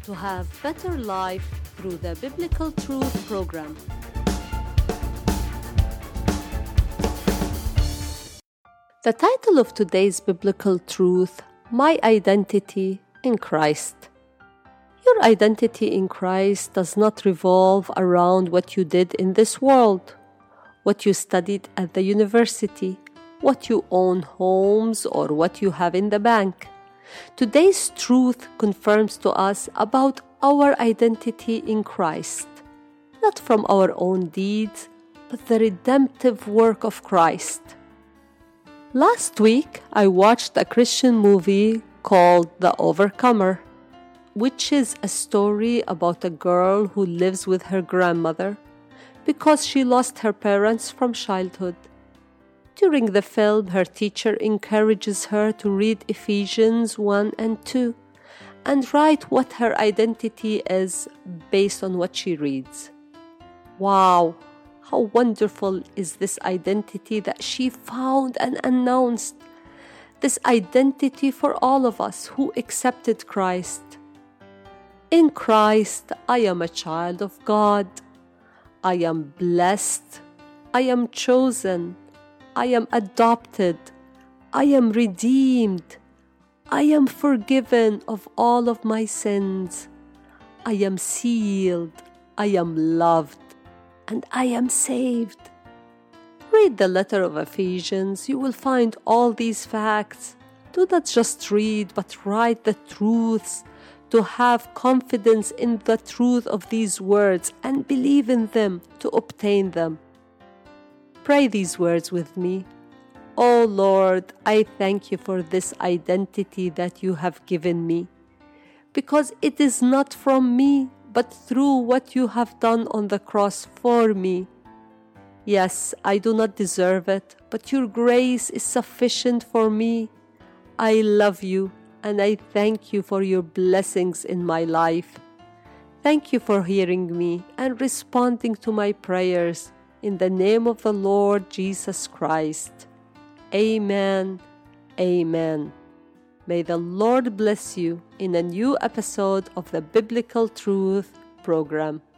to have better life through the Biblical Truth program. The title of today's Biblical Truth, My Identity in Christ. Your identity in Christ does not revolve around what you did in this world, what you studied at the university, what you own homes, or what you have in the bank. Today's truth confirms to us about our identity in Christ, not from our own deeds, but the redemptive work of Christ. Last week, I watched a Christian movie called The Overcomer, which is a story about a girl who lives with her grandmother because she lost her parents from childhood. During the film, her teacher encourages her to read Ephesians 1 and 2 and write what her identity is based on what she reads. Wow, how wonderful is this identity that she found and announced, this identity for all of us who accepted Christ. In Christ, I am a child of God. I am blessed. I am chosen. I am adopted. I am redeemed. I am forgiven of all of my sins. I am sealed. I am loved. And I am saved. Read the letter of Ephesians. You will find all these facts. Do not just read, but write the truths to have confidence in the truth of these words and believe in them to obtain them. Pray these words with me. Oh Lord, I thank you for this identity that you have given me, because it is not from me, but through what you have done on the cross for me. Yes, I do not deserve it, but your grace is sufficient for me. I love you, and I thank you for your blessings in my life. Thank you for hearing me and responding to my prayers. In the name of the Lord Jesus Christ. Amen. Amen. May the Lord bless you in a new episode of the Biblical Truth program.